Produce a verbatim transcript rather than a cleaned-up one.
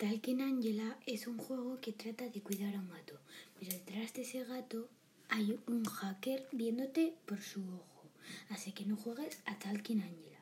Talking Angela es un juego que trata de cuidar a un gato, pero detrás de ese gato hay un hacker viéndote por su ojo, así que no juegues a Talking Angela.